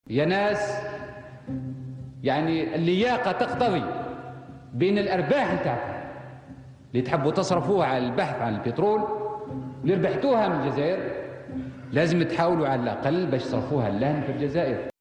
يا ناس يعني اللياقة تقتضي بين الأرباح بتاعتكم اللي تحبوا تصرفوها على البحث عن البترول اللي ربحتوها من الجزائر لازم تحاولوا على الأقل باش تصرفوها لهن في الجزائر.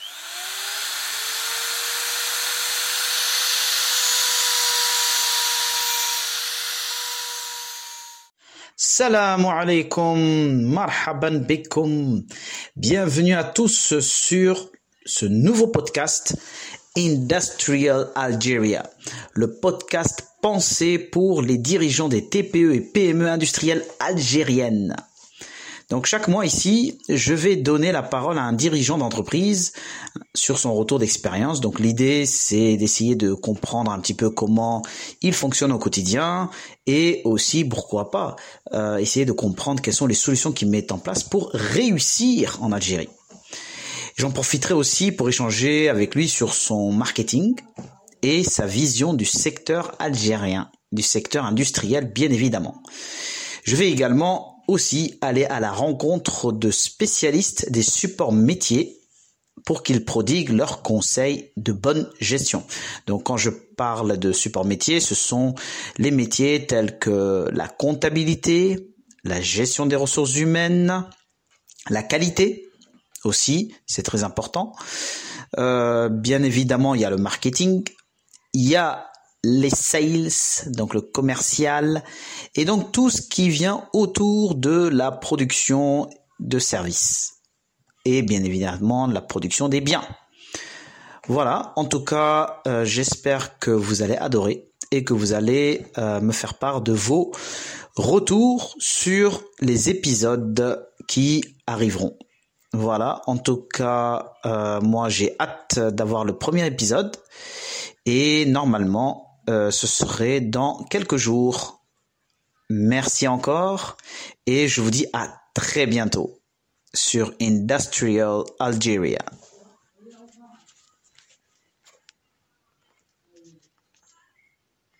Salam alaikum, marhaban bikum. Bienvenue à tous sur ce nouveau podcast Industrial Algeria, le podcast pensé pour les dirigeants des TPE et PME industrielles algériennes. Donc chaque mois ici, je vais donner la parole à un dirigeant d'entreprise sur son retour d'expérience. Donc l'idée, c'est d'essayer de comprendre un petit peu comment il fonctionne au quotidien et aussi, pourquoi pas, essayer de comprendre quelles sont les solutions qu'il met en place pour réussir en Algérie. J'en profiterai aussi pour échanger avec lui sur son marketing et sa vision du secteur algérien, du secteur industriel bien évidemment. Je vais également aussi aller à la rencontre de spécialistes des supports métiers pour qu'ils prodiguent leurs conseils de bonne gestion. Donc quand je parle de support métier, ce sont les métiers tels que la comptabilité, la gestion des ressources humaines, la qualité aussi, c'est très important. Bien évidemment, il y a le marketing, il y a les sales, donc le commercial, et donc tout ce qui vient autour de la production de services et bien évidemment la production des biens. Voilà, en tout cas, j'espère que vous allez adorer et que vous allez me faire part de vos retours sur les épisodes qui arriveront. Voilà, en tout cas, moi j'ai hâte d'avoir le premier épisode et normalement ce serait dans quelques jours. Merci encore et je vous dis à très bientôt sur Industrial Algeria.